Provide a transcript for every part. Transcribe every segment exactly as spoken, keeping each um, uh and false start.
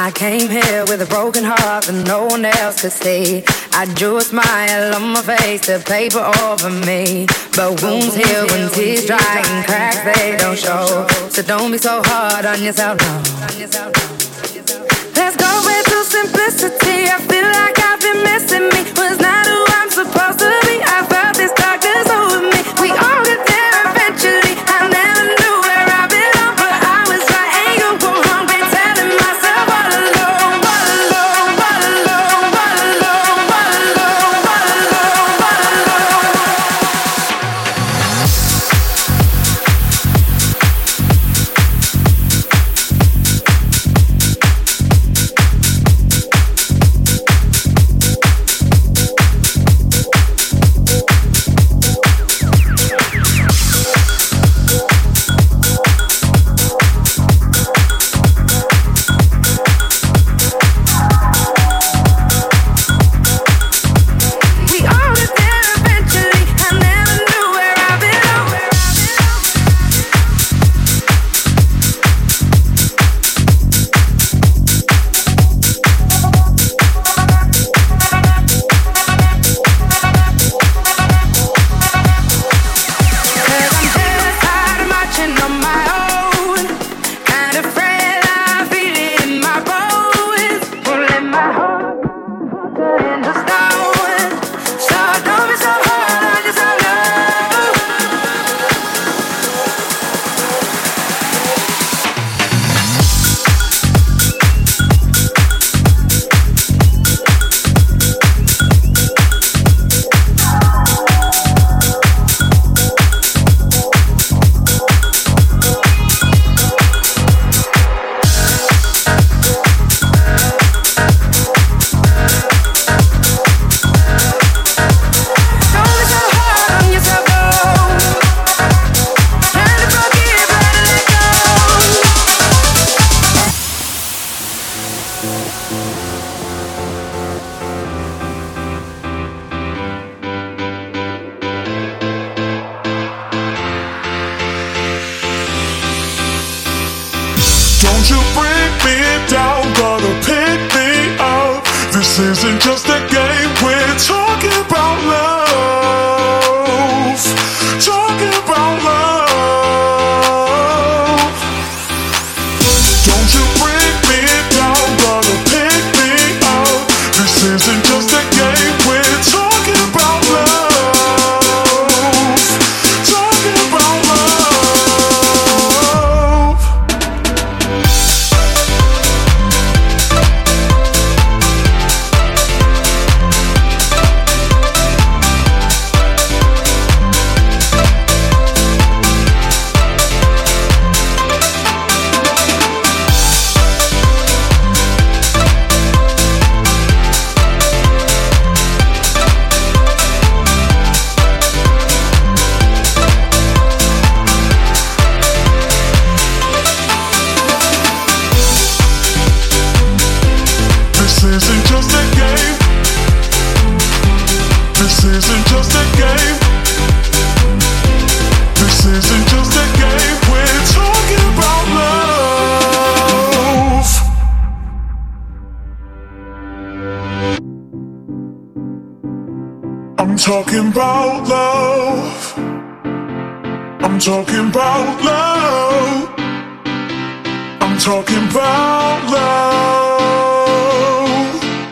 I came here with a broken heart that no one else could see. I drew a smile on my face to paper over me, but wounds heal when tears dry and cracks they don't show. So don't be so hard on yourself, no. Let's go back to simplicity. I feel like I've been missing me. Was not who I'm supposed to be. I felt this darkness over me. We all get there eventually. I never knew where I belong, but I was right and you were wrong. Been telling myself all alone, all alone, all alone, all alone, all alone, all alone, all alone. Don't you bring me down, gotta pick me up. This isn't just a game, we're talking about love. Talking about love. Don't you bring me down, gotta pick me up. This isn't just a game, we're talking about love. Talking about love. This isn't just a game. This isn't just a game. This isn't just a game. We're talking about love. I'm talking about love. I'm talking about love. I'm talking about love.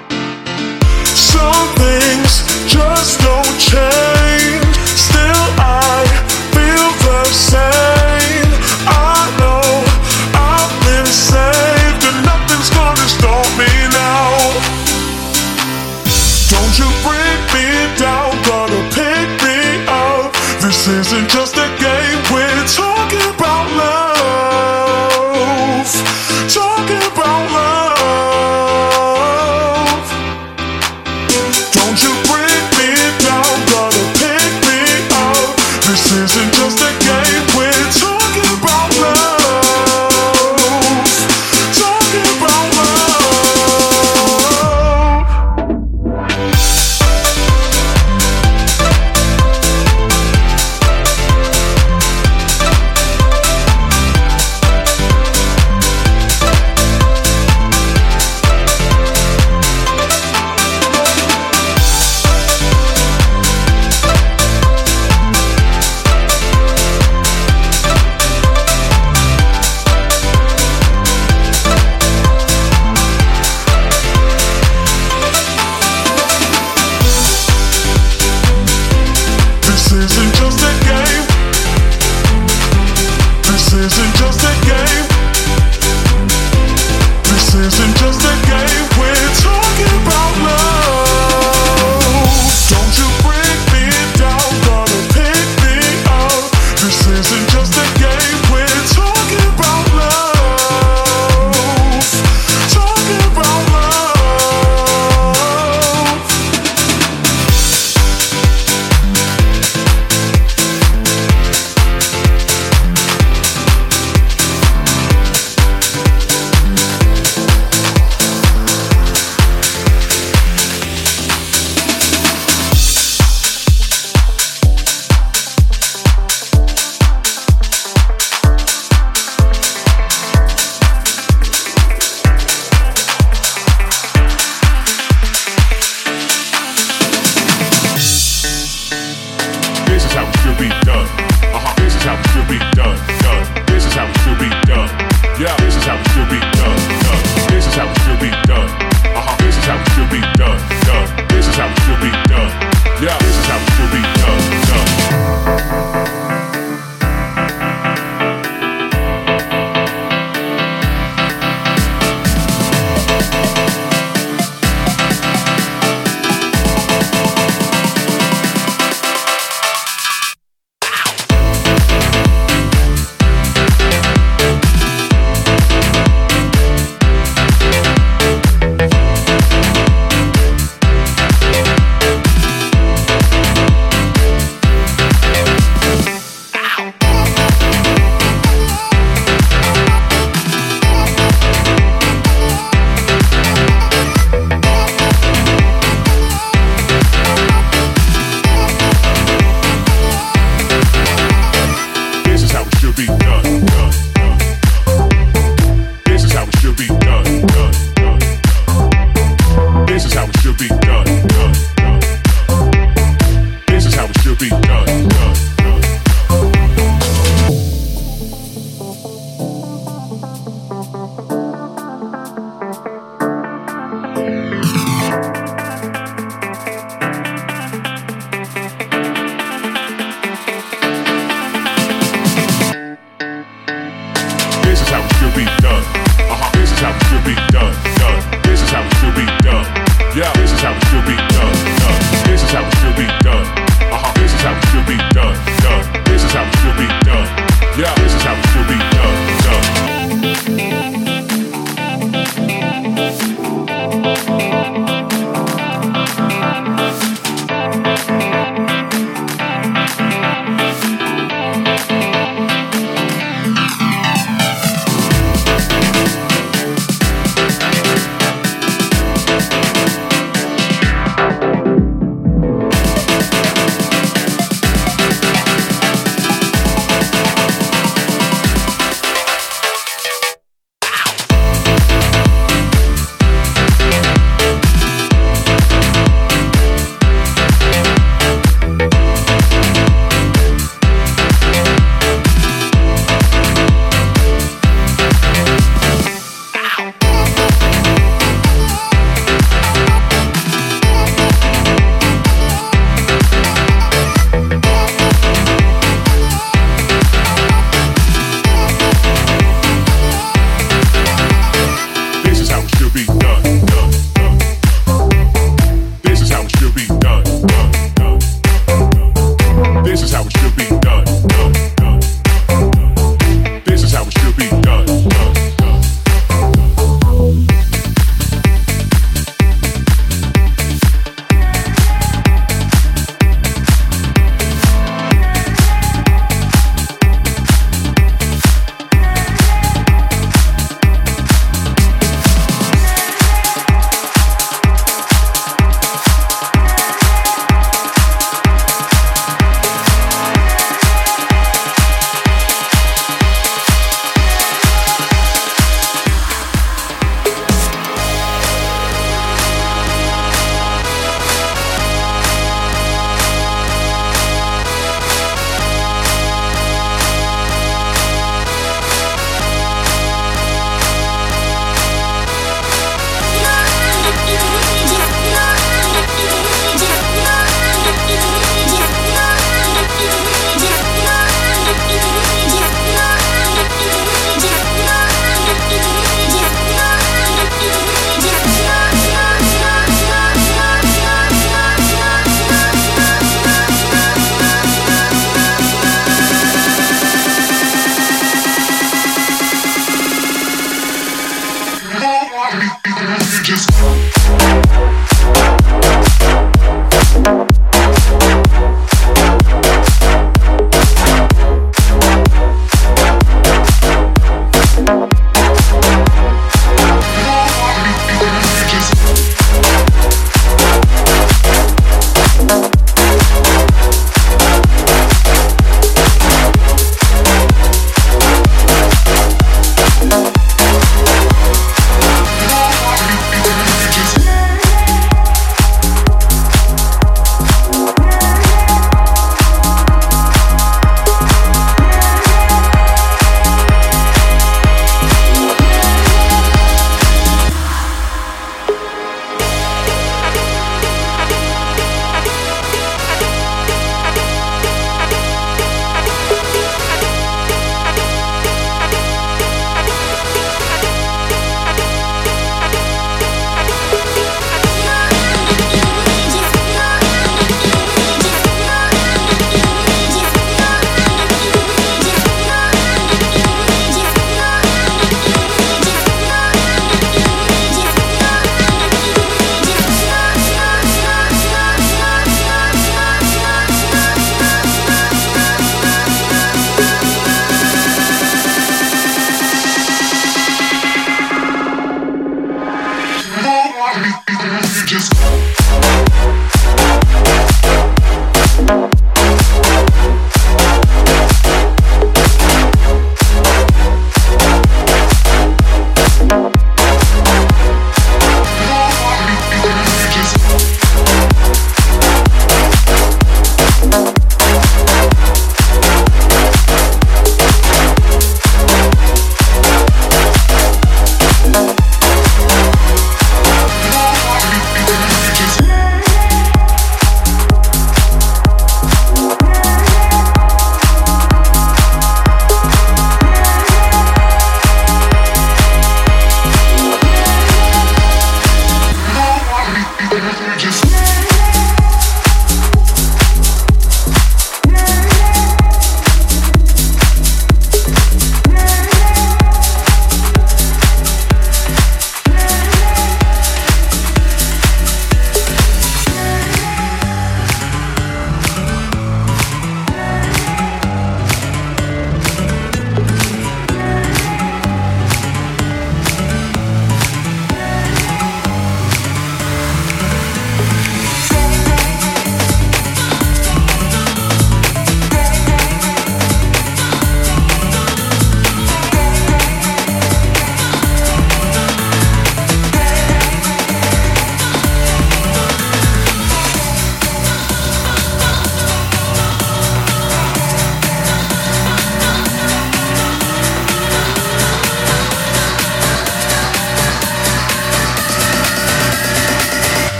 Some things just don't change. Still I feel the same. I know I've been saved and nothing's gonna stop me now. Don't you bring me down, gotta pick me up. This isn't just a game, we're talking about love. Talking about love. Yeah, this is how it should be done, done. This is how it should be done. Uh-huh, this is how it should be done, done. This is how it should be done. Yeah, this is how it should be done, done.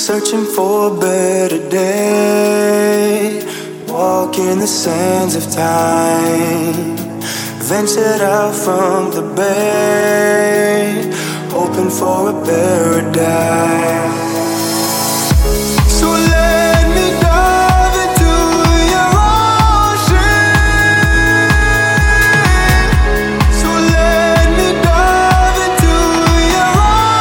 searching for a better day. Walking the sands of time, ventured out from the bay, hoping for a paradise. So let me dive into your ocean. So let me dive into your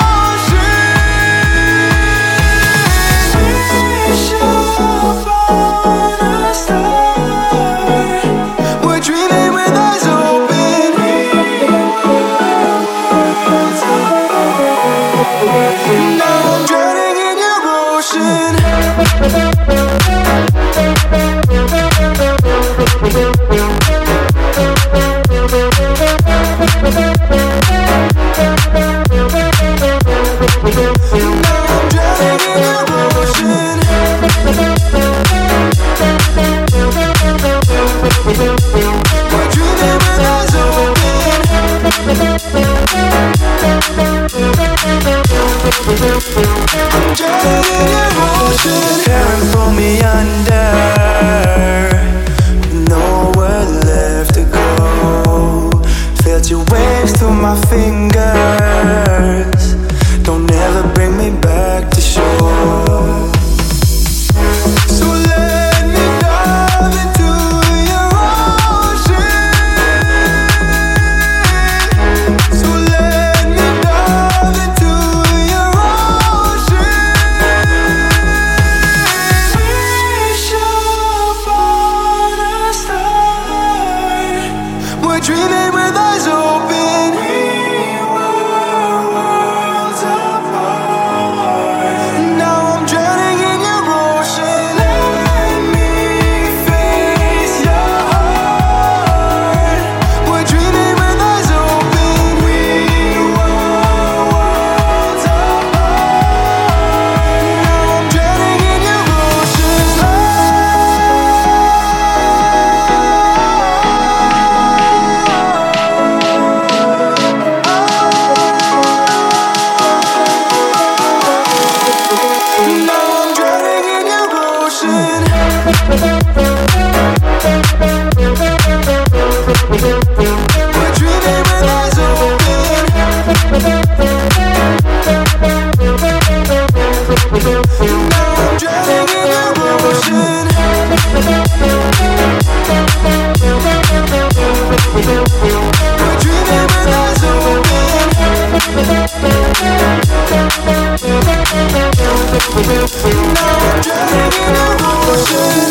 ocean. Fish up on a star. We're dreaming with eyes open. Now I'm drowning in your ocean. Can't pull me under, nowhere left to go. Felt your waves through my fingers. Don't ever bring me back to shore. So let me dive into your ocean. So let me dive into your ocean. Fish up on a star. We're dreaming with eyes open. We were worlds apart. Now I'm drowning in your ocean. Let me face your heart. We're dreaming with eyes open. We were worlds apart. Now I'm drowning in your ocean. Now I'm drowning in your ocean. We're dreaming with eyes open. Now I'm drowning in your ocean. We're dreaming with eyes open. Now I'm drowning in your ocean.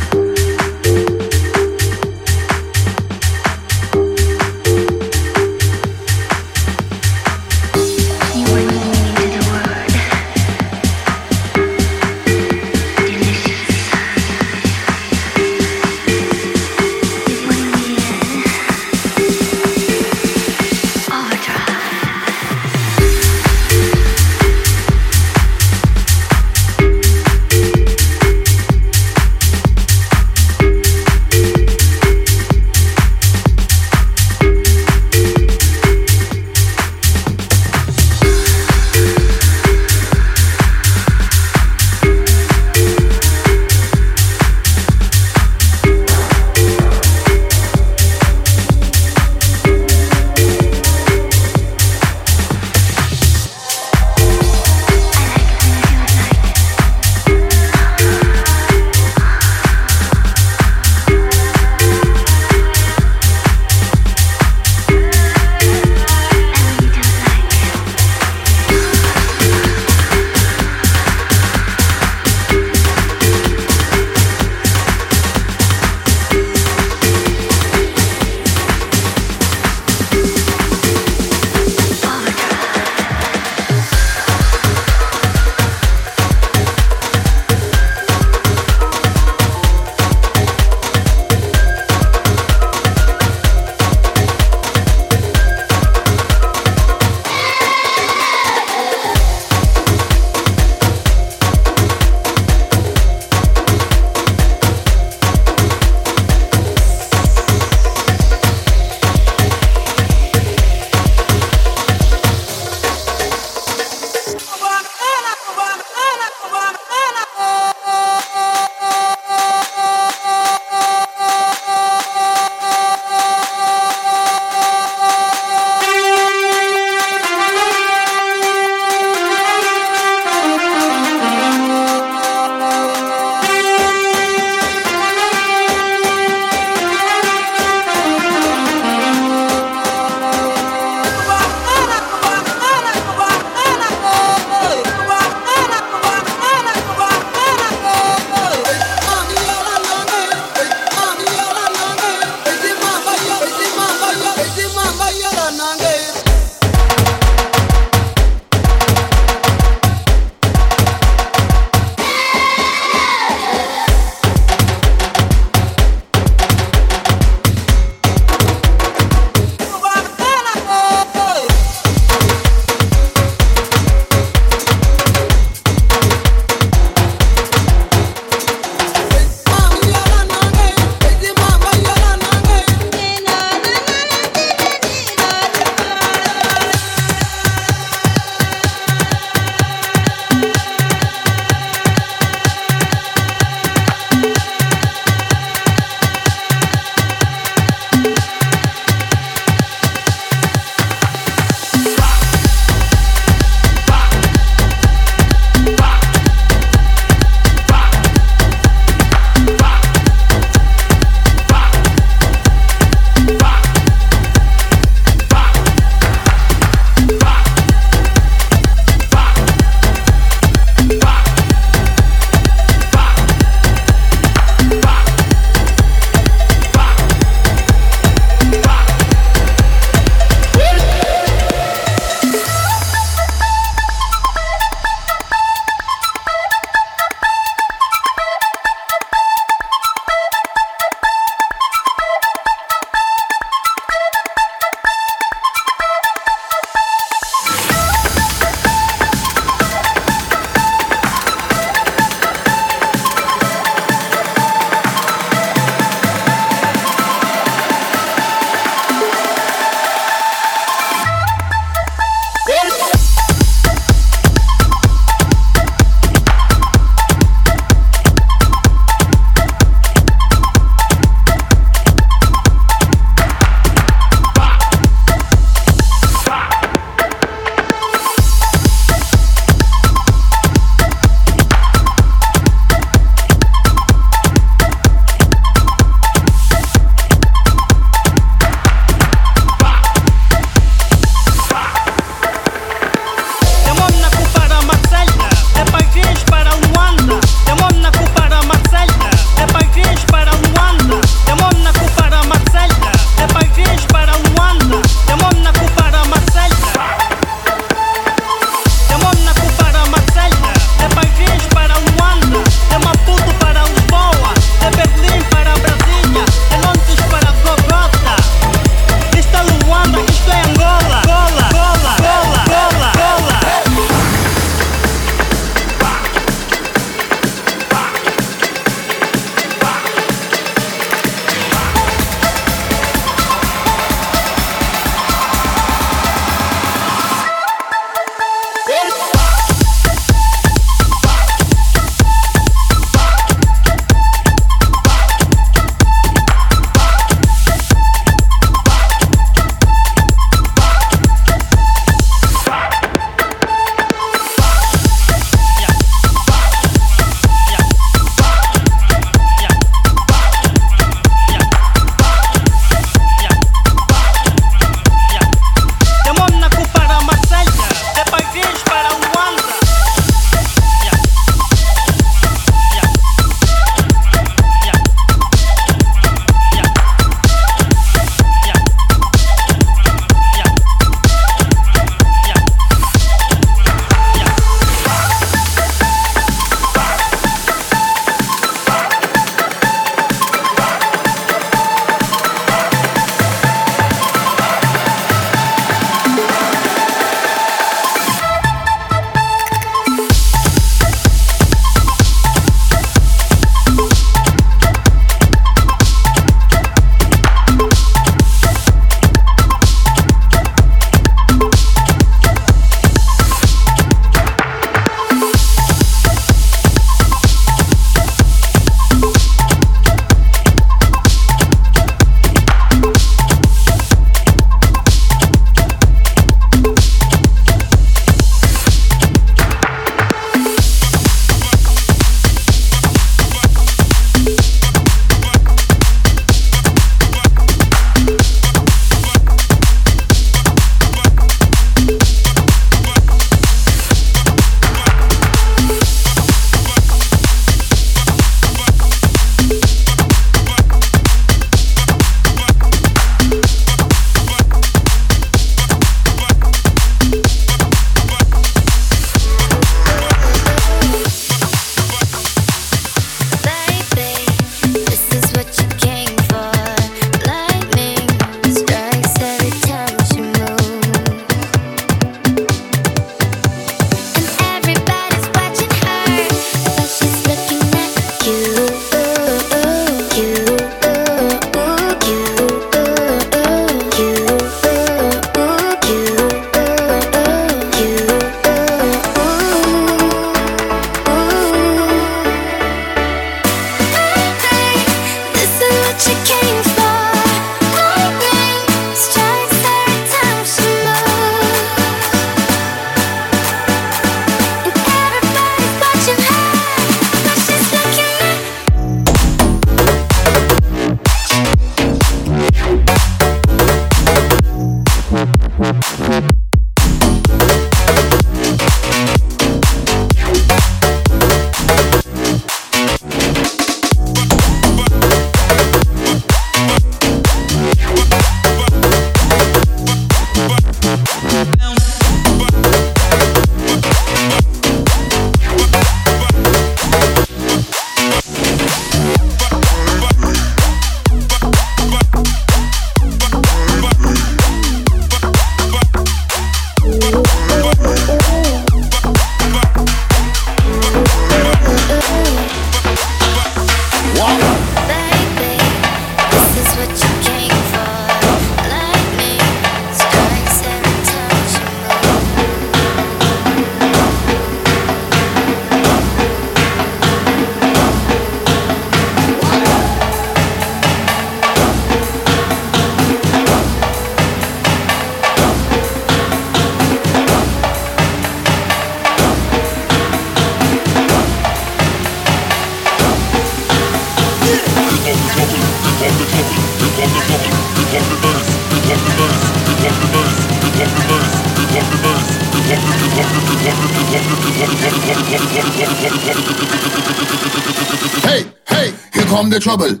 Hey, hey, here come the trouble.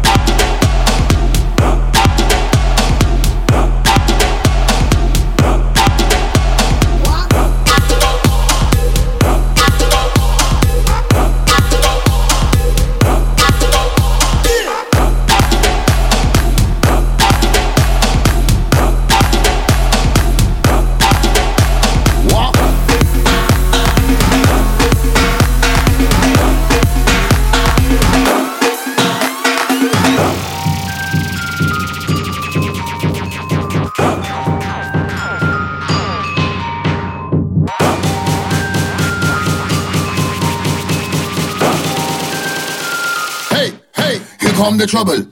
Come the trouble.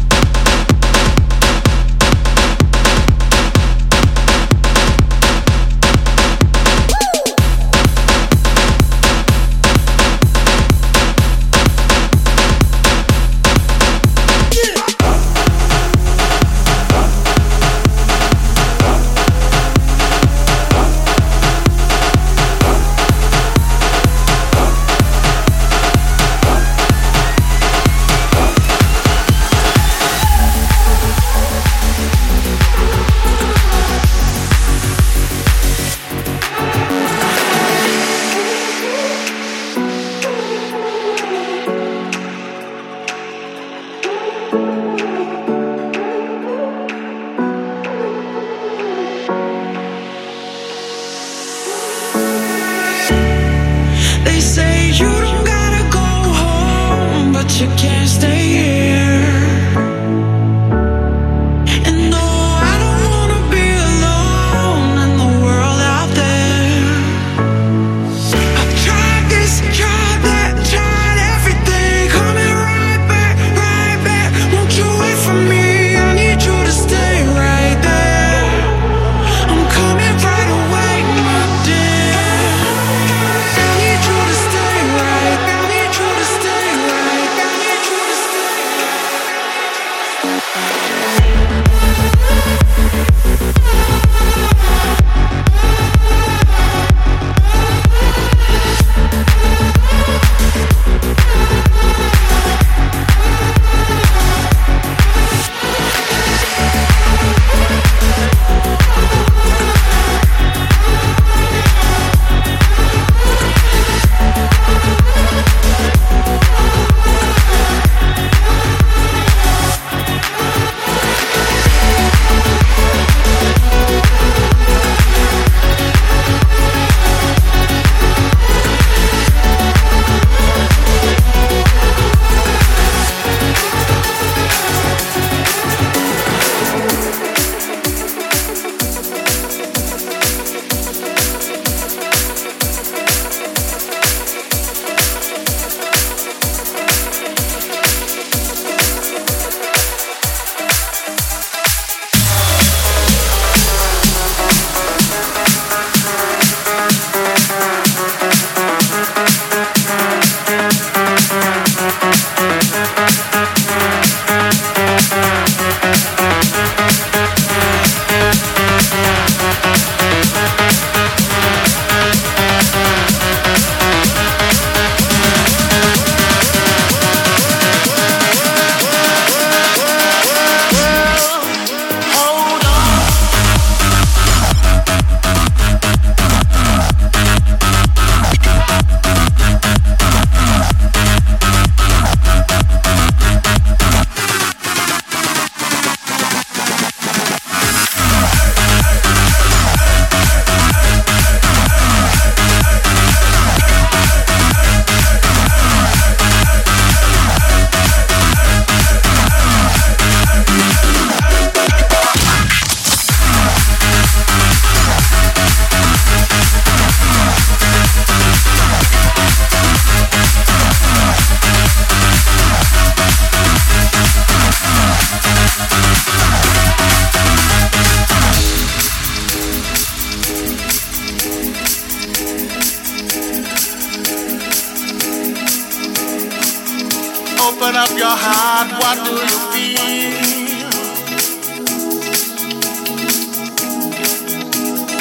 Open up your heart, what do you feel?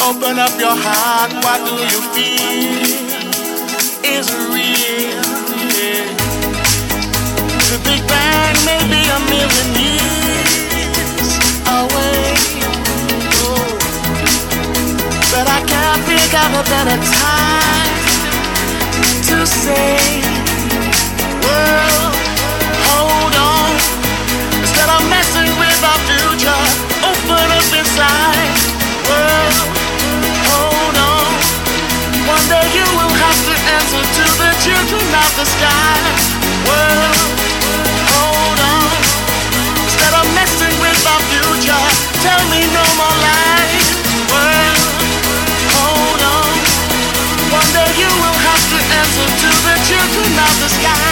Open up your heart, what do you feel? Is it real? Yeah. The Big Bang may be a million years away, oh. But I can't think of a better time to say, well, hold on. Instead of messing with our future, open up inside. Well, hold on. One day you will have to answer to the children of the sky. Well, hold on. Instead of messing with our future, tell me no more lies. Well, hold on. One day you will have to answer to the children of the sky.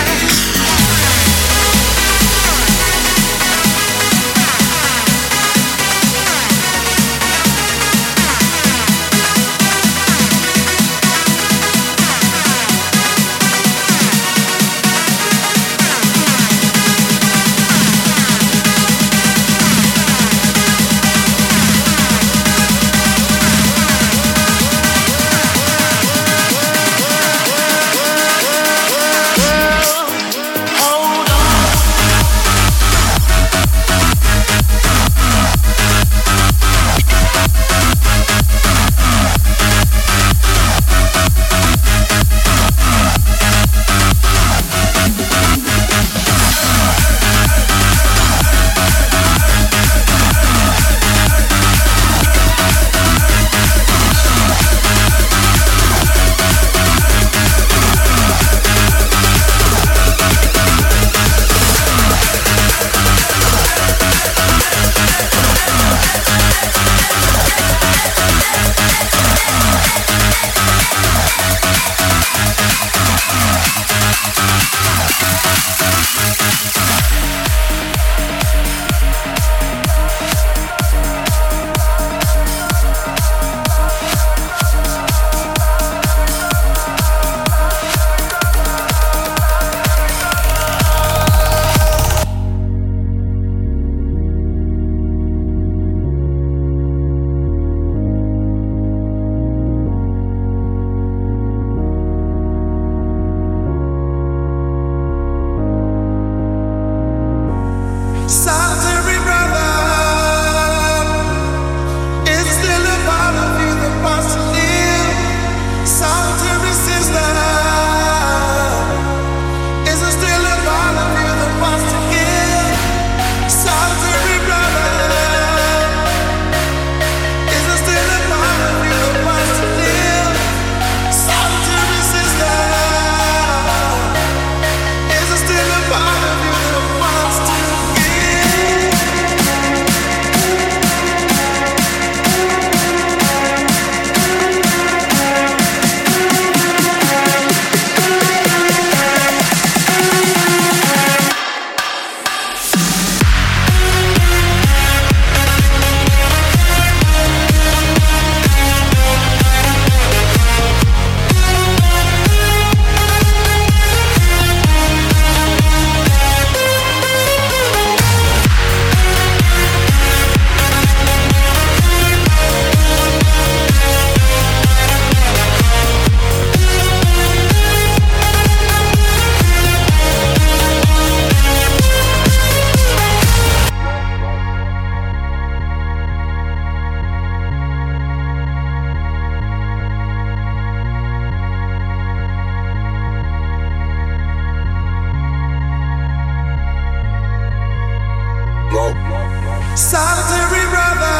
Solitary brother,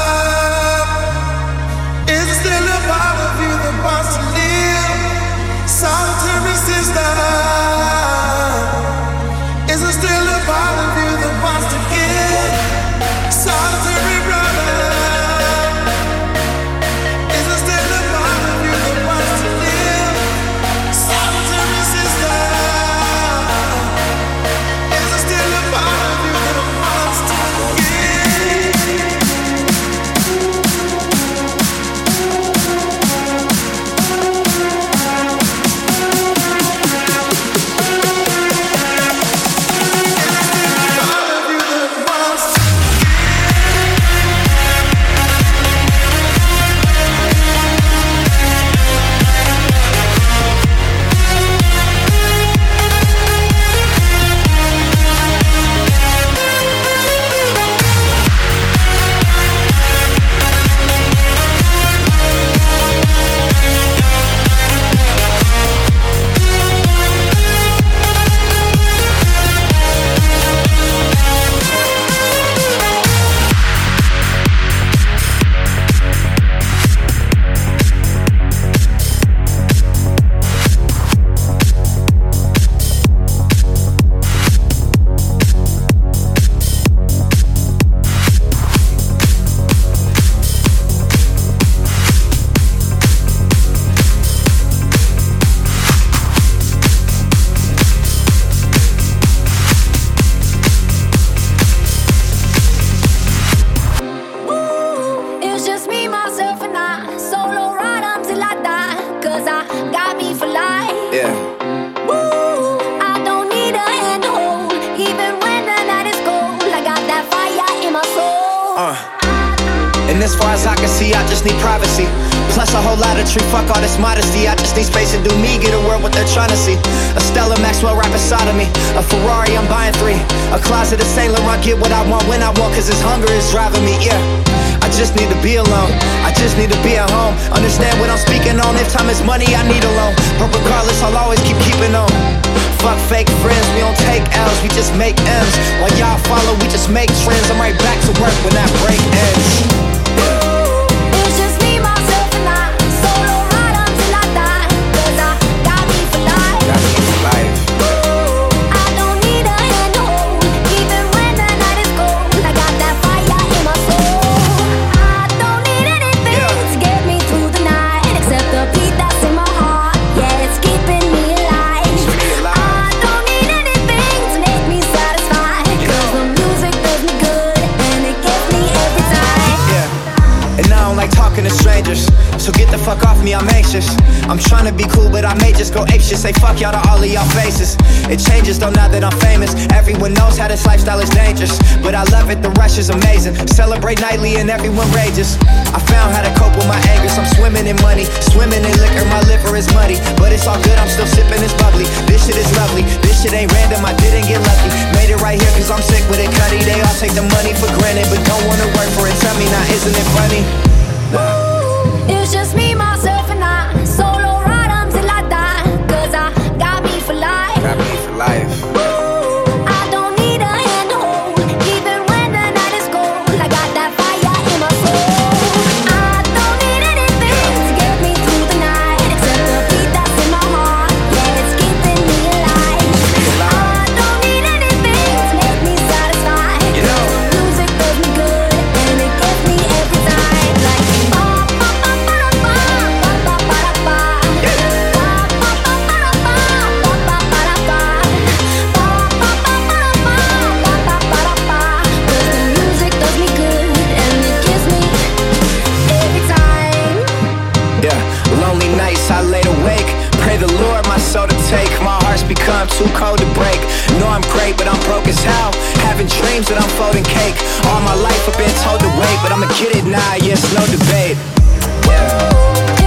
is there still a part of you that wants to live? Solitary sister, is there still a part of you that wants to give? Solitary brother, is there still a part of you that wants to live? Solitary sister, is there still a part of you that wants to give? Yeah. Woo, I don't need a hand to hold, even when the night is cold. I got that fire in my soul. Uh. And as far as I can see, I just need privacy. Plus a whole lot of tree, fuck all this modesty. I just need space to do me, get a world what they're trying to see. A Stella Maxwell right beside of me. A Ferrari, I'm buying three. A closet of Saint Laurent, get what I want when I want, cause this hunger is driving me, yeah. I just need to be alone, I just need to be at home. Understand what I'm speaking on, if time is money, I need a loan. But regardless, I'll always keep keeping on. Fuck fake friends, we don't take L's, we just make M's. While y'all follow, we just make trends. I'm right back to work when that break ends. It's just me, myself, and I. Solo ride until I die, cause I got me for life. Got me for life. I don't need a hand to hold, even when the night is cold. I got that fire in my soul. I don't need anything Yeah. to get me through the night, except the beat that's in my heart. Yeah, it's keeping me alive. Keeps me alive. I don't need anything to make me satisfied, cause the music does me good, and it gets me every time. Yeah. And I don't like talking to strangers, so get the fuck off me, I'm anxious. I'm trying to be cool, but I may just go apeshit. Say fuck y'all to all of y'all faces. It changes though now that I'm famous. Everyone knows how this lifestyle is dangerous, but I love it, the rush is amazing. Celebrate nightly and everyone rages. I found how to cope with my anger, so I'm swimming in money, swimming in liquor, my liver is muddy. But it's all good, I'm still sipping this bubbly. This shit is lovely, this shit ain't random, I didn't get lucky. Made it right here cause I'm sick with it, cutty. They all take the money for granted, but don't wanna work for it. Tell me now, isn't it funny? Nah. It's just me, myself, and I. Solo ride until I die, cause I got me for life. Got me for life. I don't need a hand to hold, even when the night is cold. I got that fire in my soul. I don't need anything to get me through the night, except the beat that's in my heart. Yeah, it's keeping me alive. I don't need anything to make me satisfied, You know. cause the music does me good, and it gets me every time. Like ba ba ba ba ba ba ba ba ba. Ba ba ba ba ba ba ba ba ba. Ba ba ba ba ba ba ba ba ba. Cause the music does me good, and it gives me every time. Yeah, lonely nights I laid awake. Pray the Lord my soul to take. My heart's become too cold to break. Know I'm great, but I'm broke as hell. Having dreams that I'm folding cake. All my life I've been told to wait, but I'ma get it now, yes, no debate. Yeah.